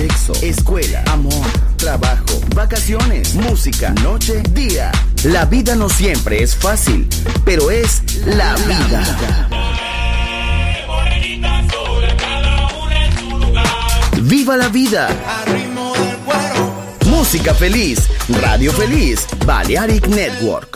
sexo, escuela, amor, trabajo, vacaciones, música, noche, día. La vida no siempre es fácil, pero es la vida. ¡Viva la vida! Música feliz, radio feliz, Balearic Network.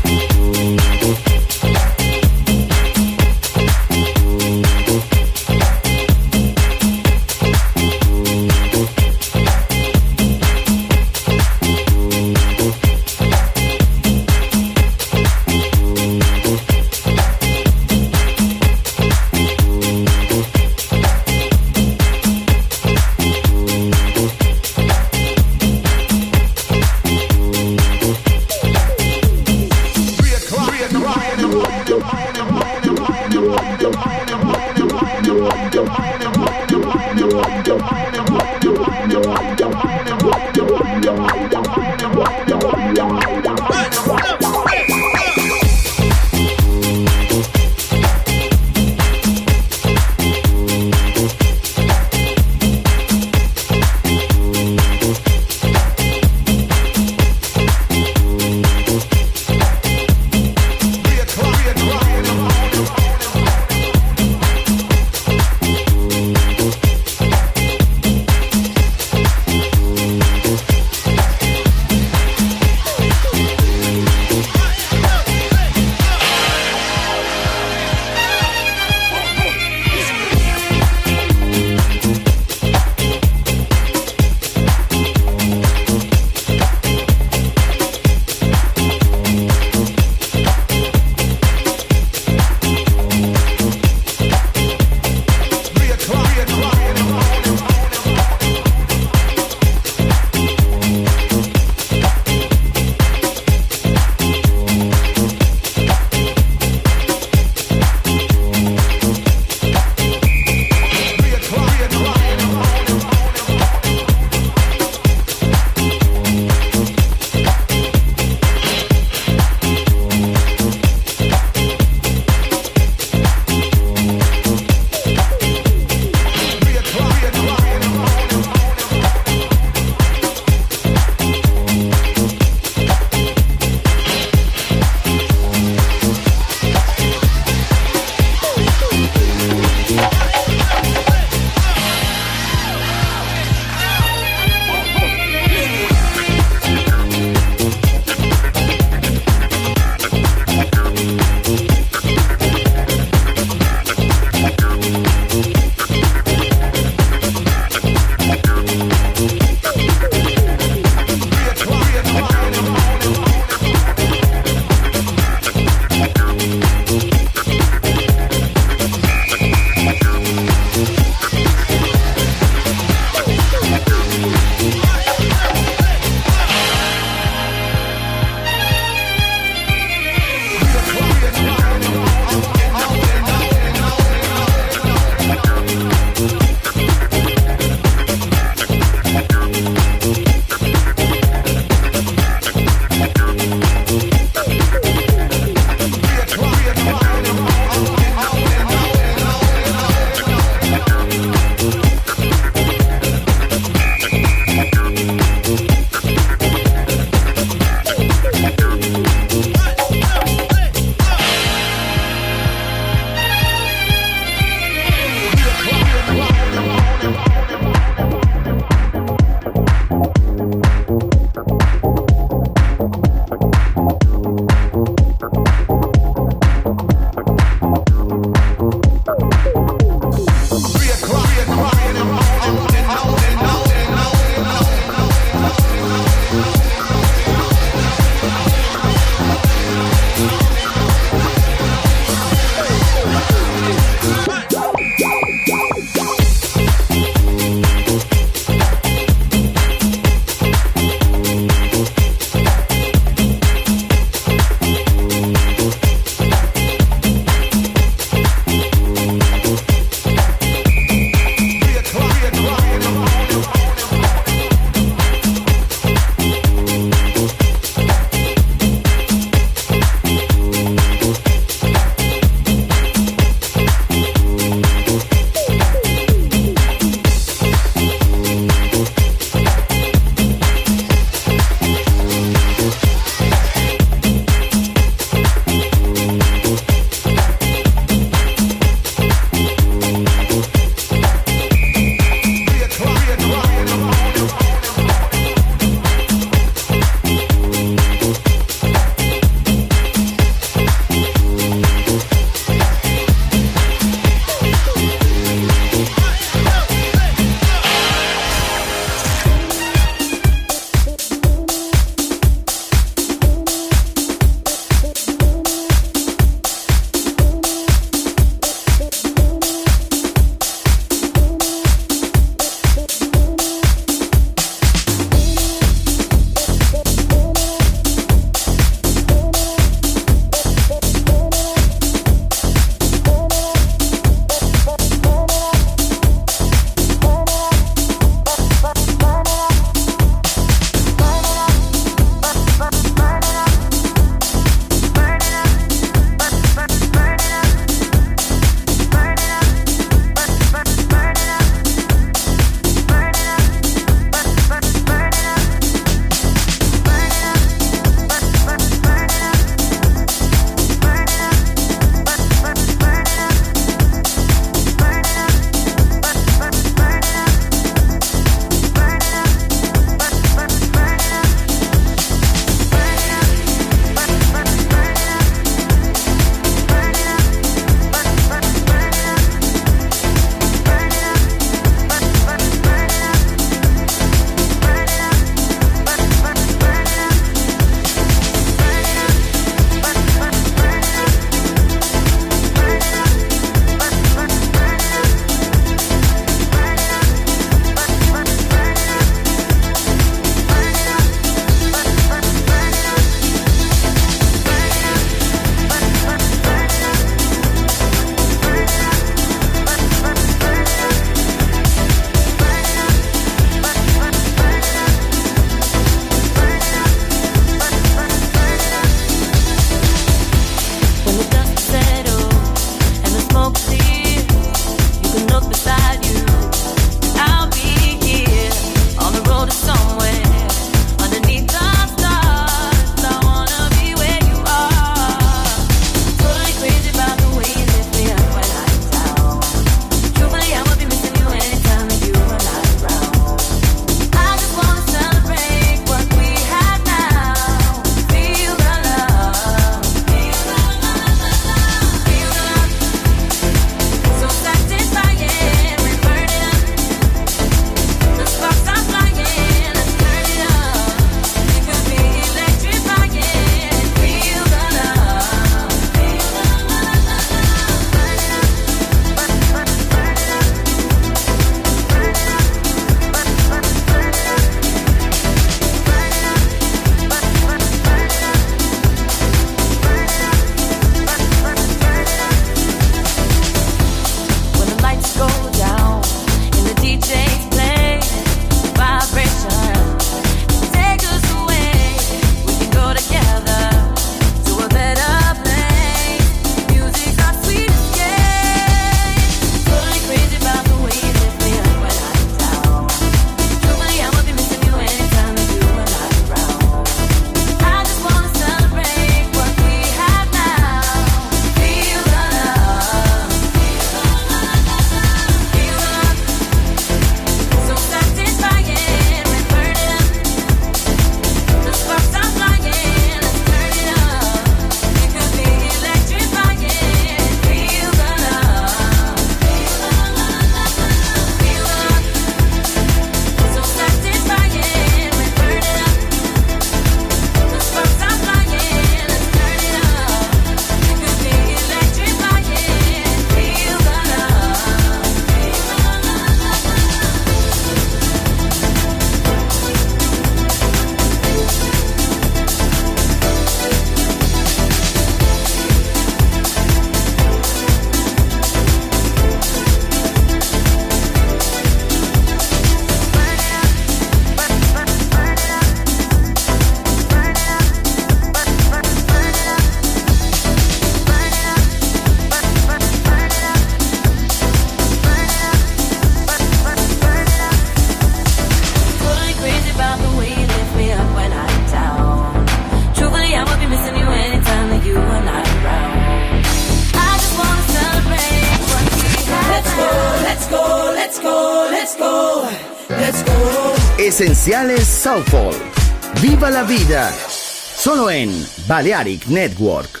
let's go, let's go, let's go. Esenciales Soulful. Viva la vida. Solo en Balearic Network.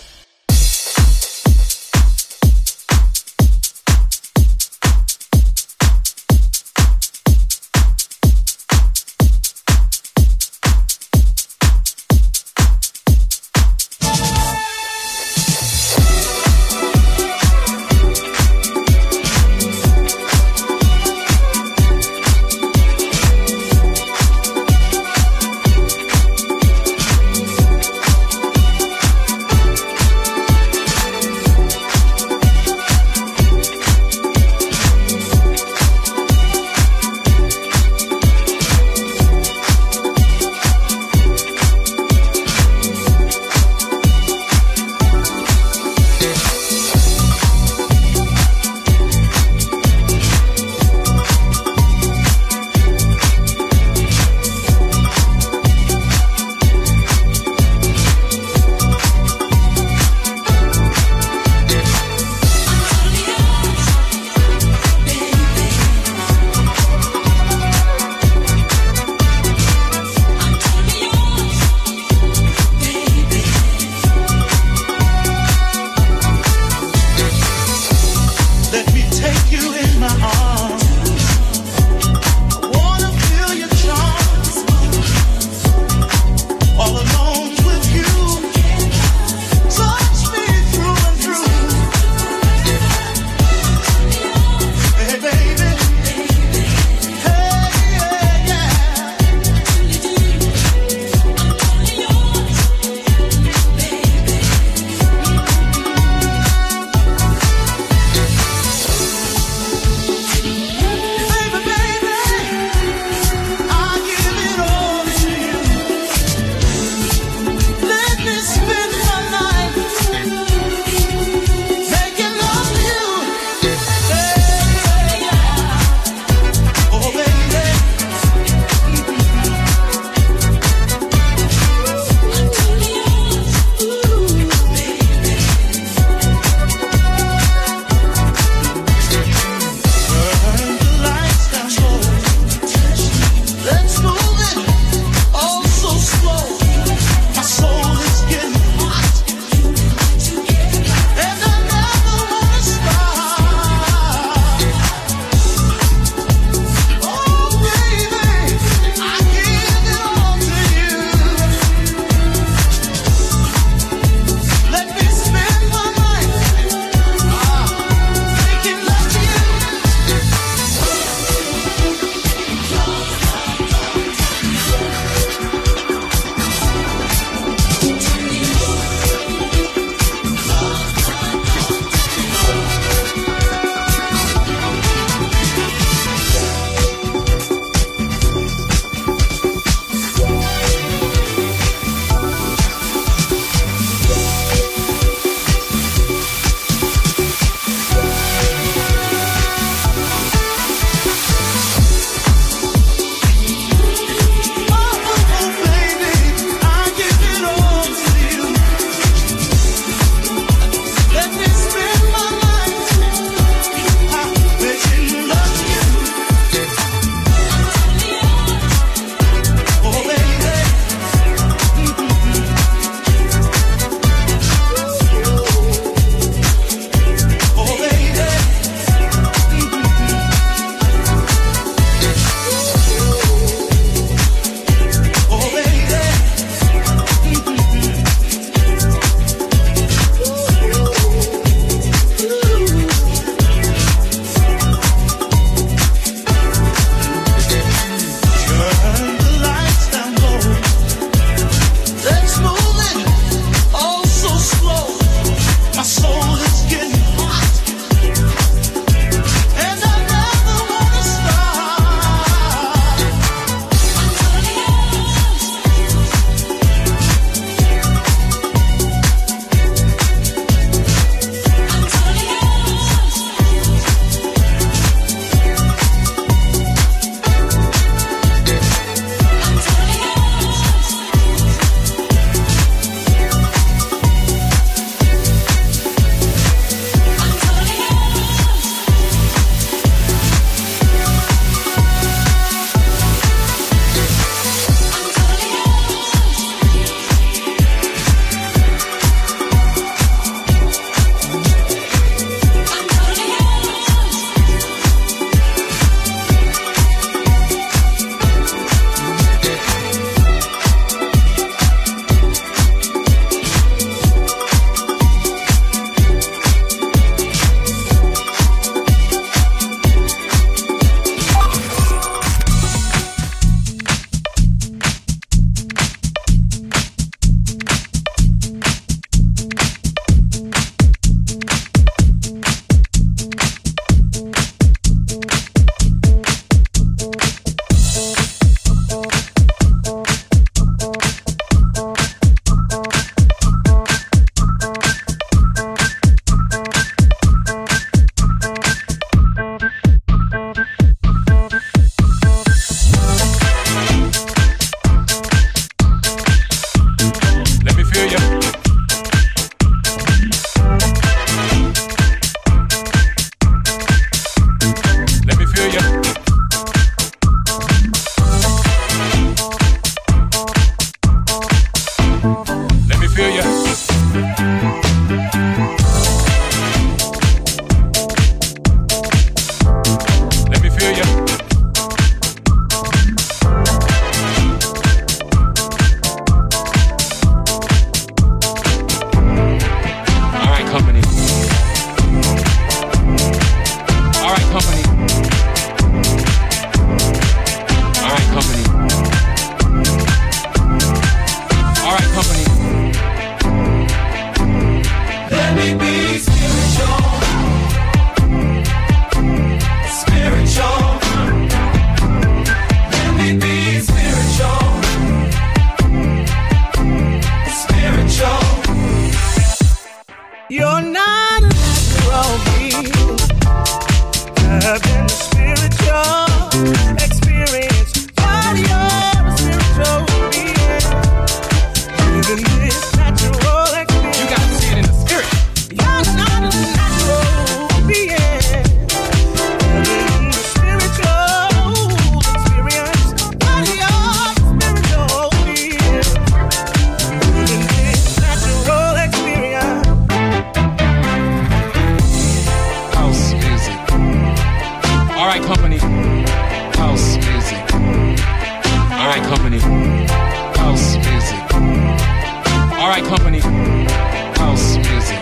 company. House music. All right, company. House music.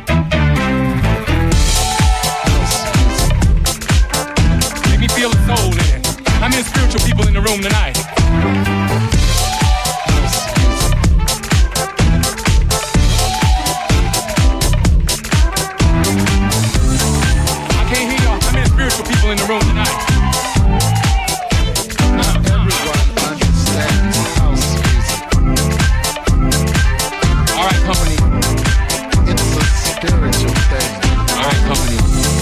House music. Make me feel the soul in it. How many spiritual people in the room tonight? House music. I can't hear y'all. How many spiritual people in the room tonight? Company. It's a spiritual thing. All right, company.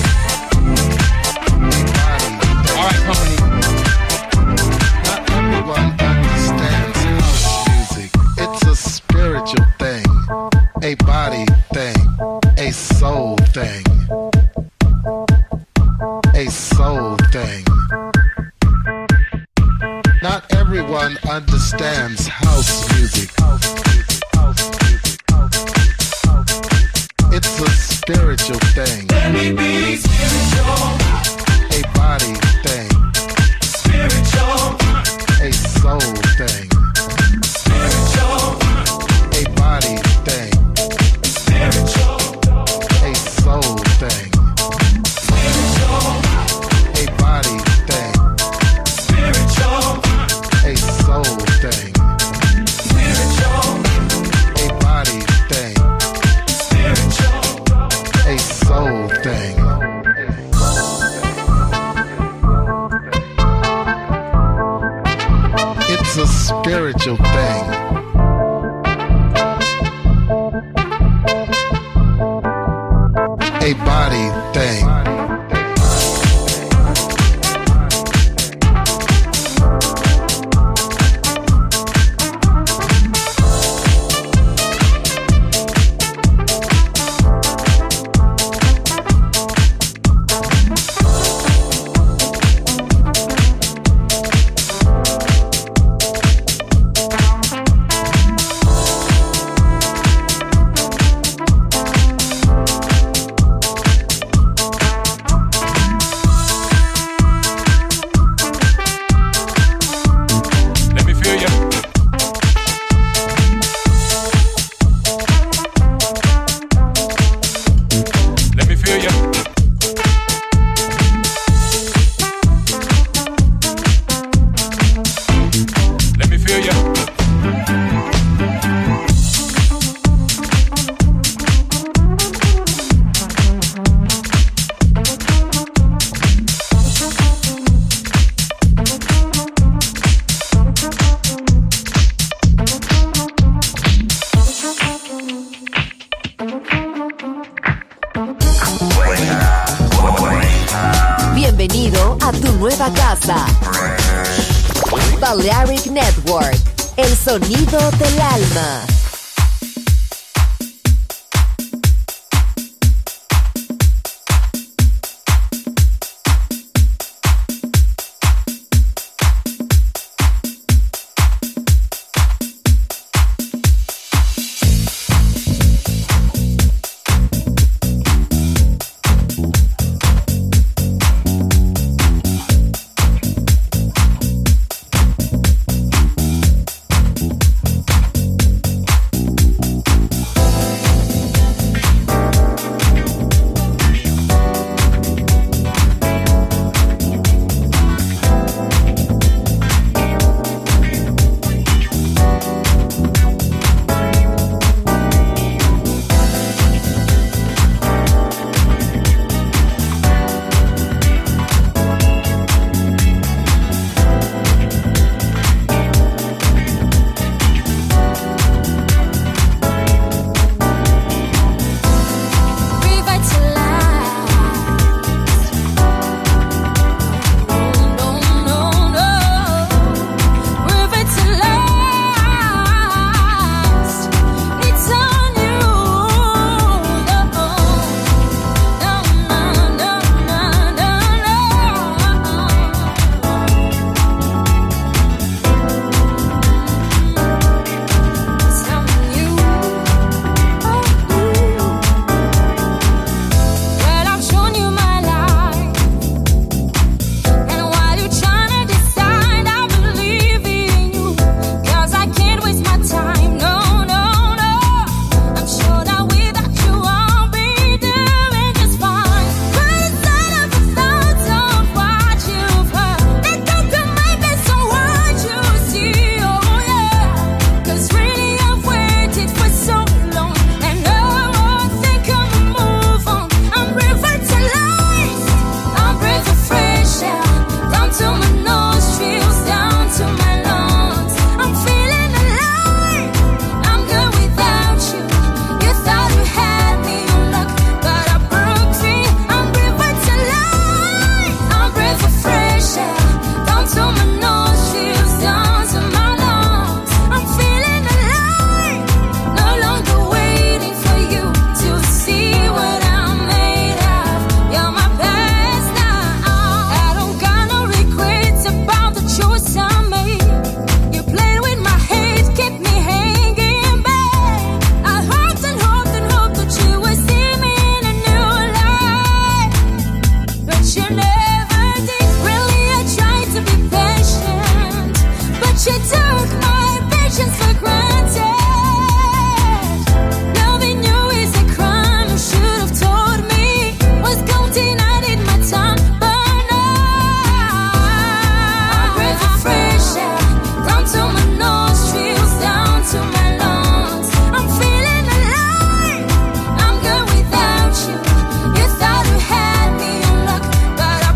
All right, company. Not everyone understands house music. It's a spiritual thing, a body thing, a soul thing, a soul thing. Not everyone understands house music. It's a spiritual thing. Let me be spiritual. A body thing. Spiritual. A soul thing. Spiritual. A body thing. Spiritual. A soul thing. Spiritual. A body thing. Spiritual. A soul thing. Spiritual. A body thing. A soul thing. It's a spiritual thing. A body thing. Bienvenido a tu nueva casa. Balearic Network, el sonido del alma. But I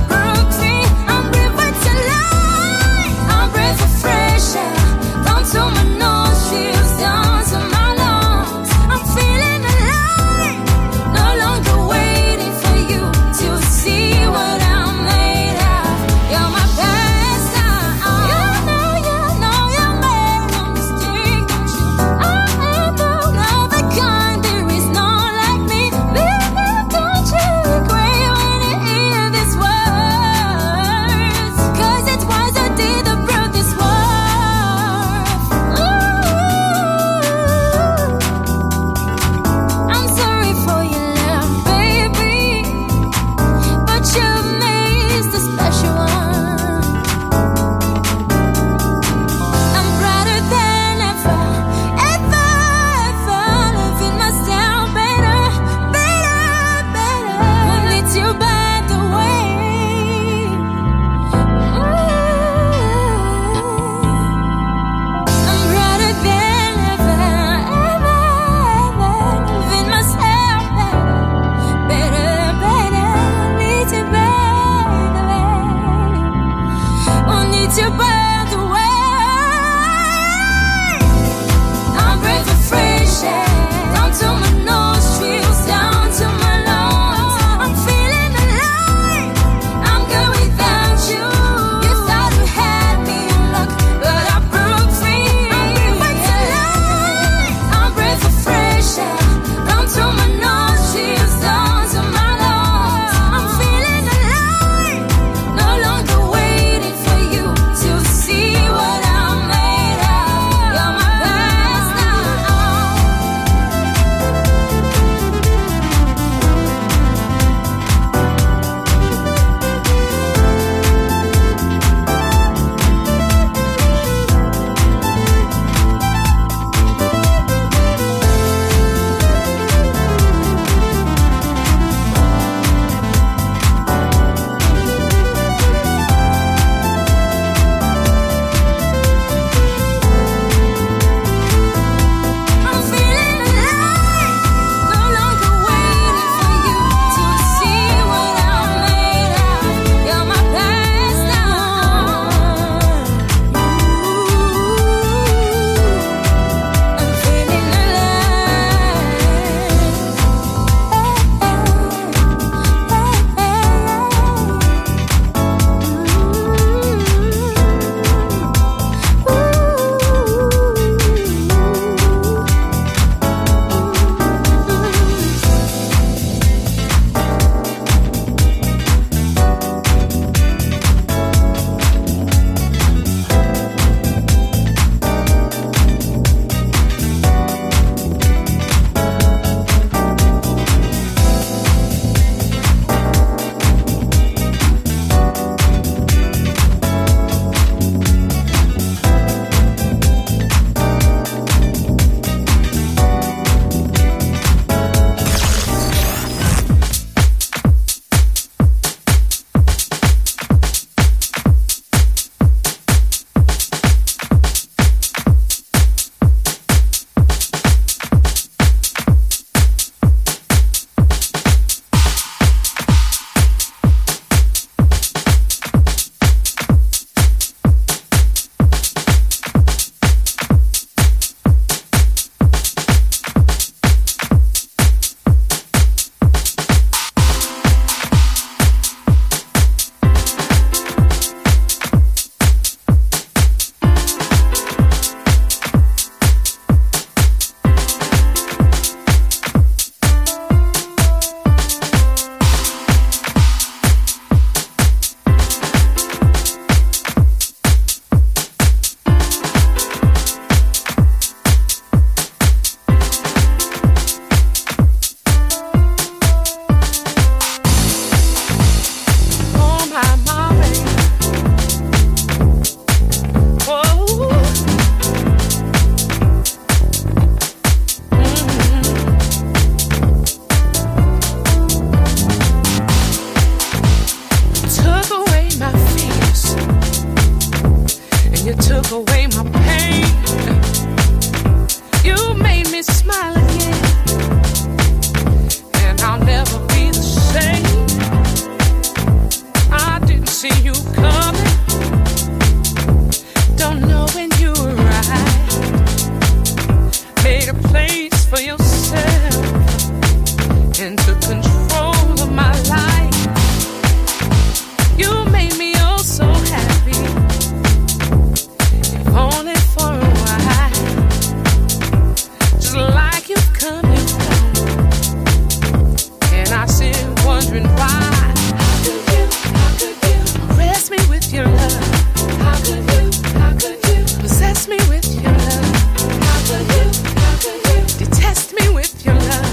with your love? How could you possess me with your love? How could you detest me with your love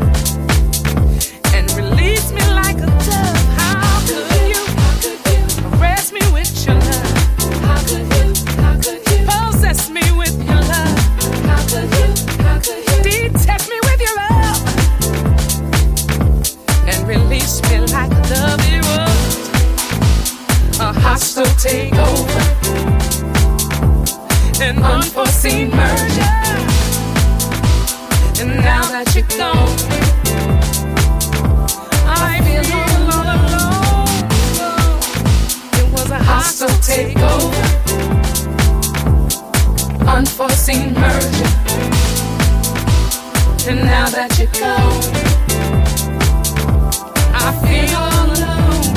and release me like a dove? How could you arrest me with your love? How could you possess me with your love? How could you detest me with your love and release me like a dove? It was a hostile takeover, an unforeseen merger, and now that you're gone, I feel all alone. It was a hostile takeover, unforeseen merger, and now that you're gone, I feel all alone.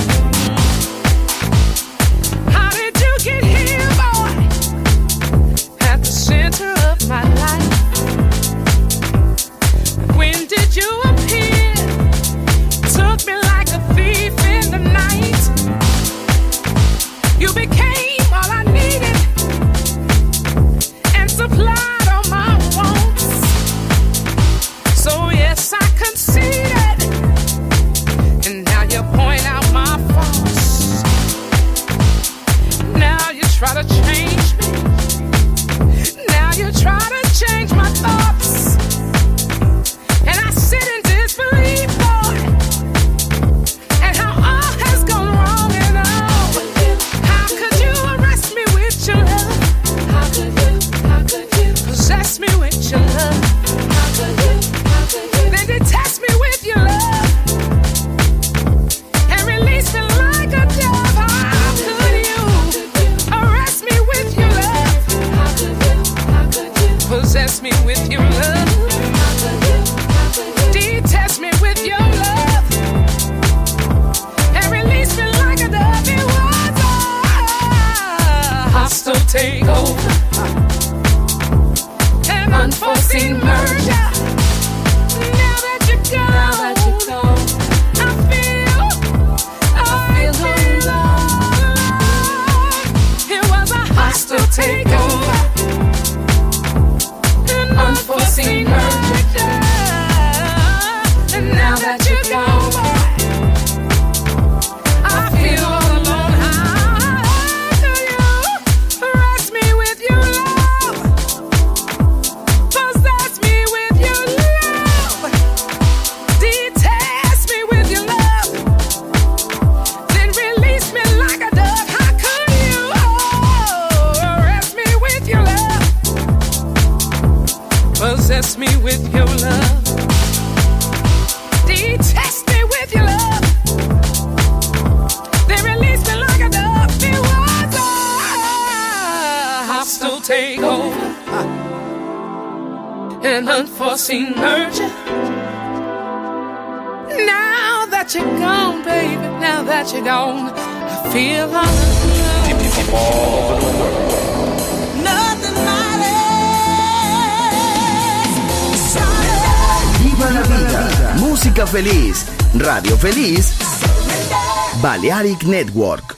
How did you get here, boy? At the center of my life. When did you appear? Took me like a thief in the night. You became all I needed and supplied all my wants. So yes, I conceded, and now you point out my faults. Now you try to change me. Now you try to change my thoughts, and I sit in disbelief, boy, and how all has gone wrong and all. How could you arrest me with your love? How could you possess me with your love? How could you then detest me with your love and release me like a dove? How could you arrest me with your love? How could you possess me with your love? Detest me with your love and release me like a dove? It was a hostile takeover, an unforeseen merger. Now that you're gone, I feel alone. It was a hostile takeover, an unforeseen merger. And now that you're gone, boy, I feel all alone. How do you arrest me with your love? Possess me with your love. Detest me with your love. Then release me like a dove. How could you arrest me with your love? Possess me with your love. Detest me with your love. Then release me like a dove. It was a hostile takeover, an unforeseen merger. Now that you're gone, baby, now that you're gone, I feel all alone. Nothing matters. Viva la vida, música feliz, radio feliz, Balearic Network.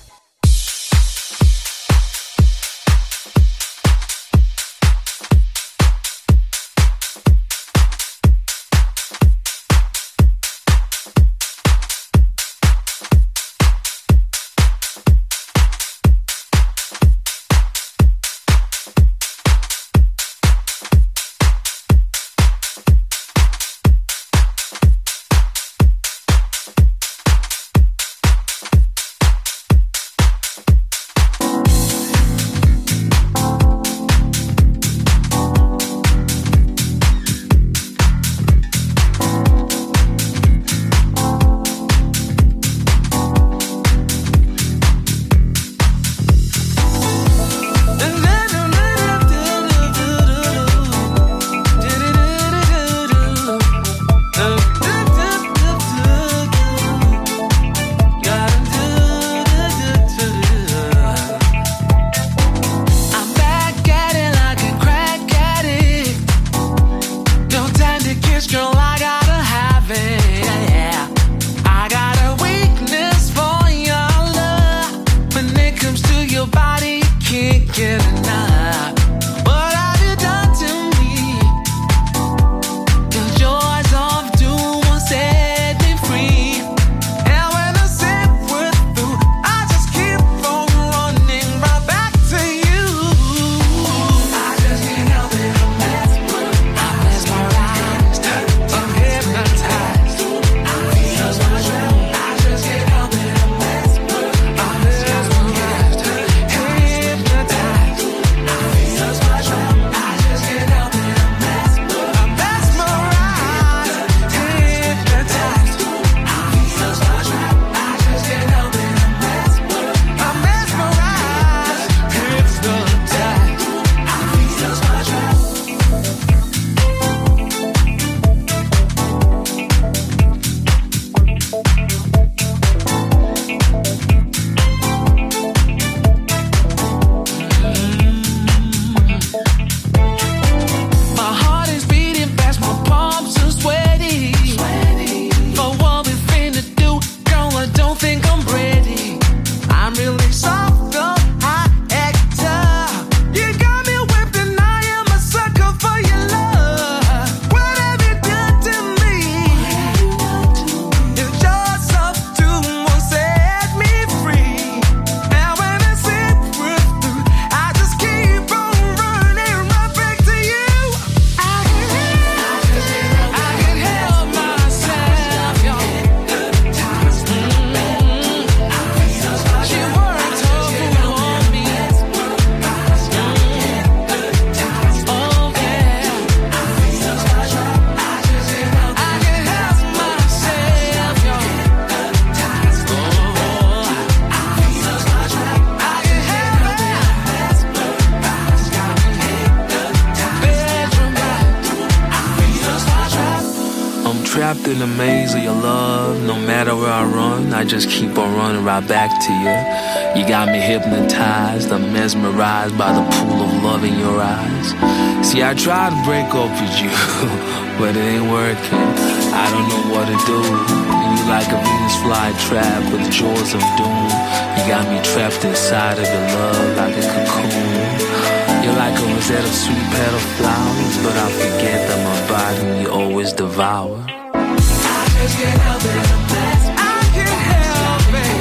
Trapped in the maze of your love. No matter where I run, I just keep on running right back to you. You got me hypnotized, I'm mesmerized by the pool of love in your eyes. See, I tried to break up with you, but it ain't working. I don't know what to do. You like a Venus flytrap with the jaws of doom. You got me trapped inside of your love like a cocoon. You're like a rosette of sweet petal flowers, but I forget that my body you always devour. I just can't help it. I can't help it.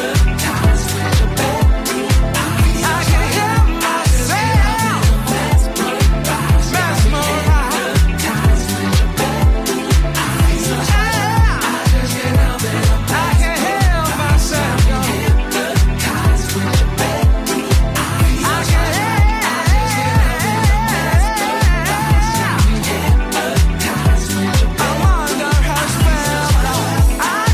I can't help myself. Mesmerized. I can't help myself. I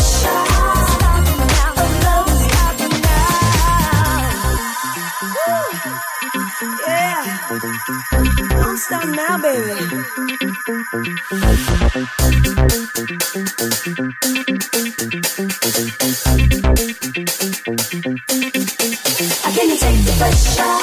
Don't stop now, baby. Can you take the pressure?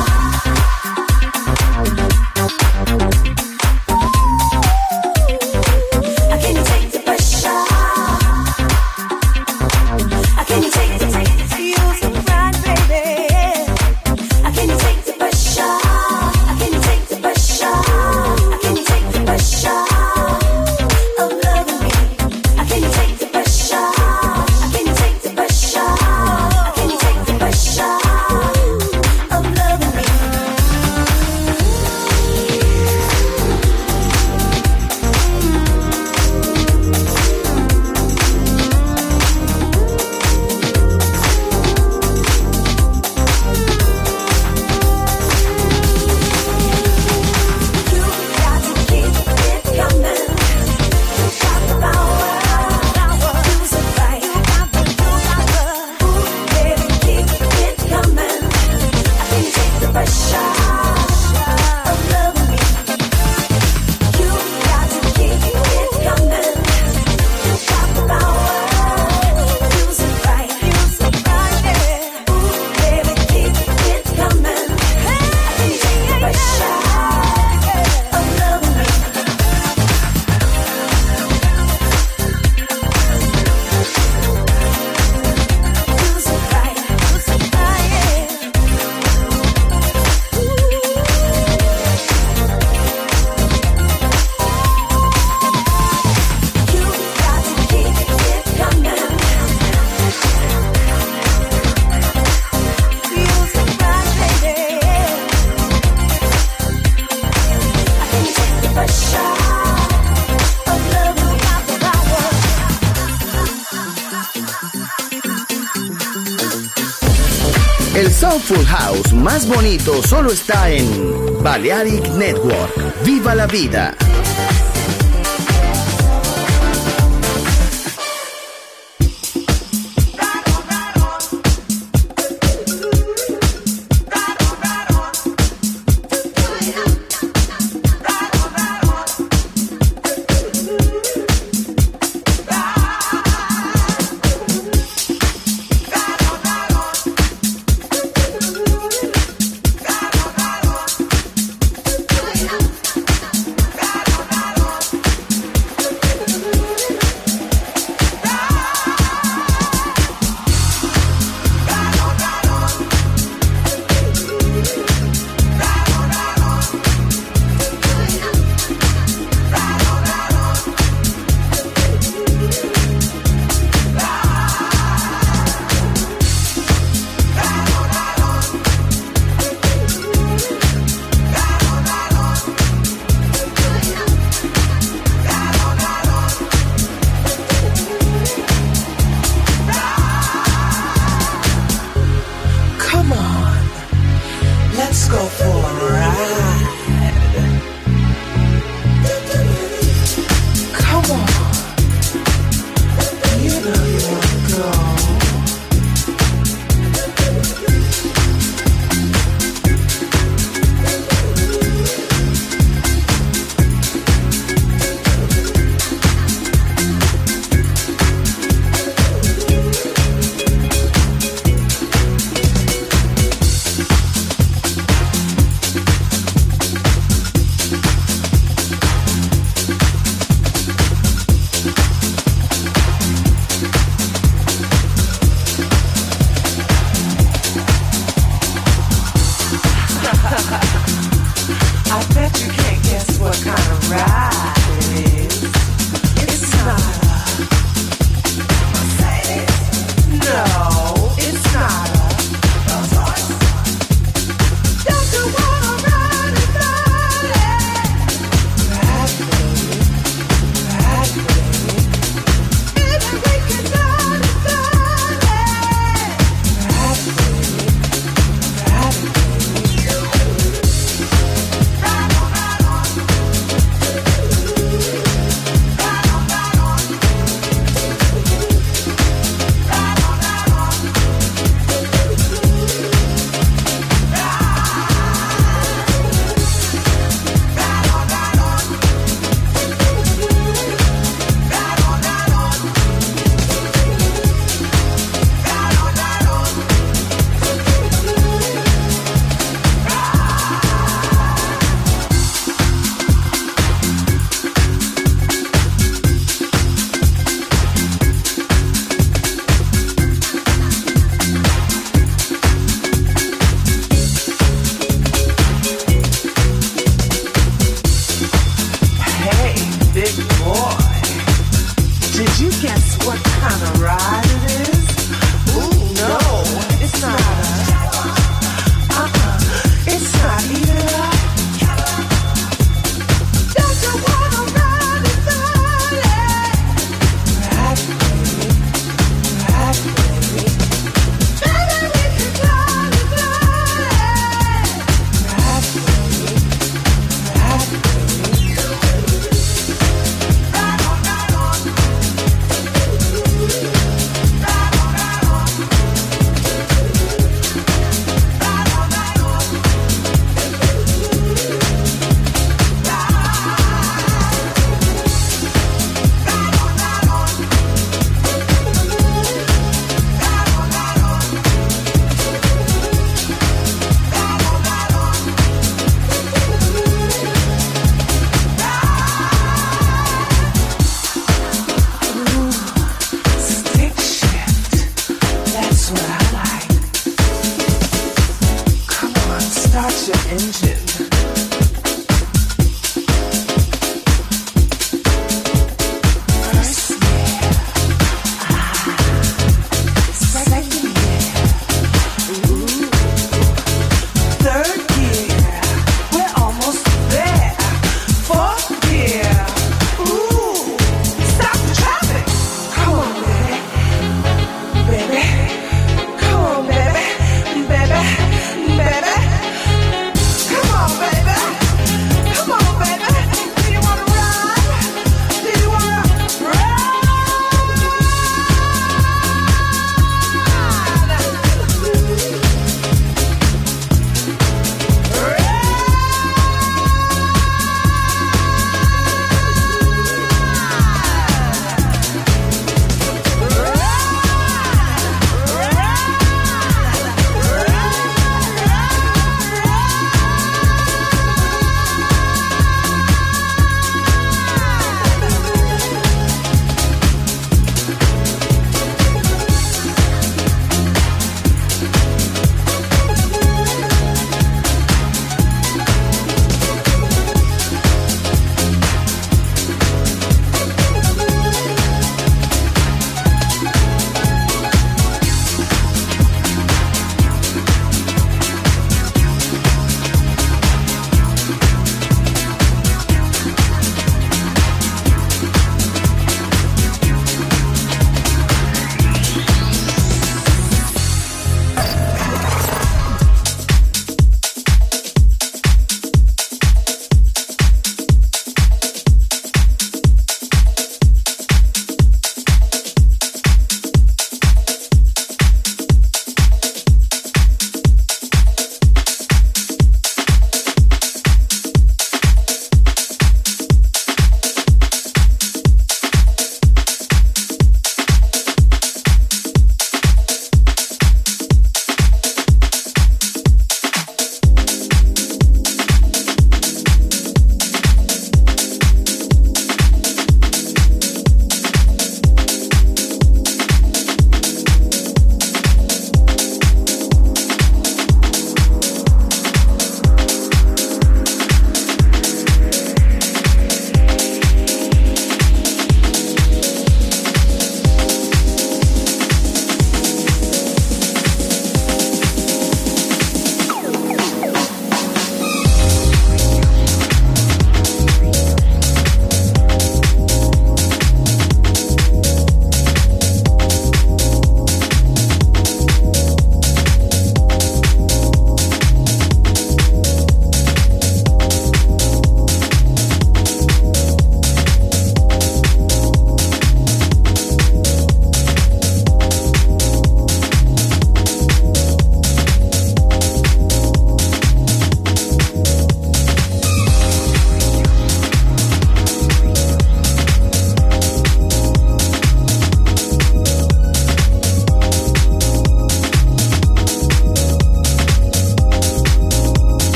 El Soulful House más bonito solo está en Balearic Network. ¡Viva la vida!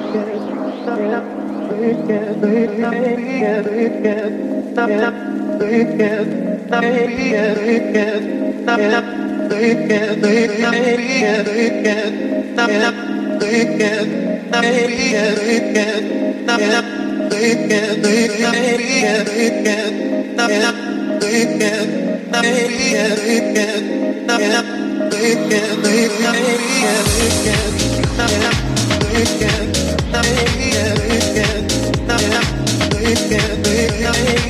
Weekend.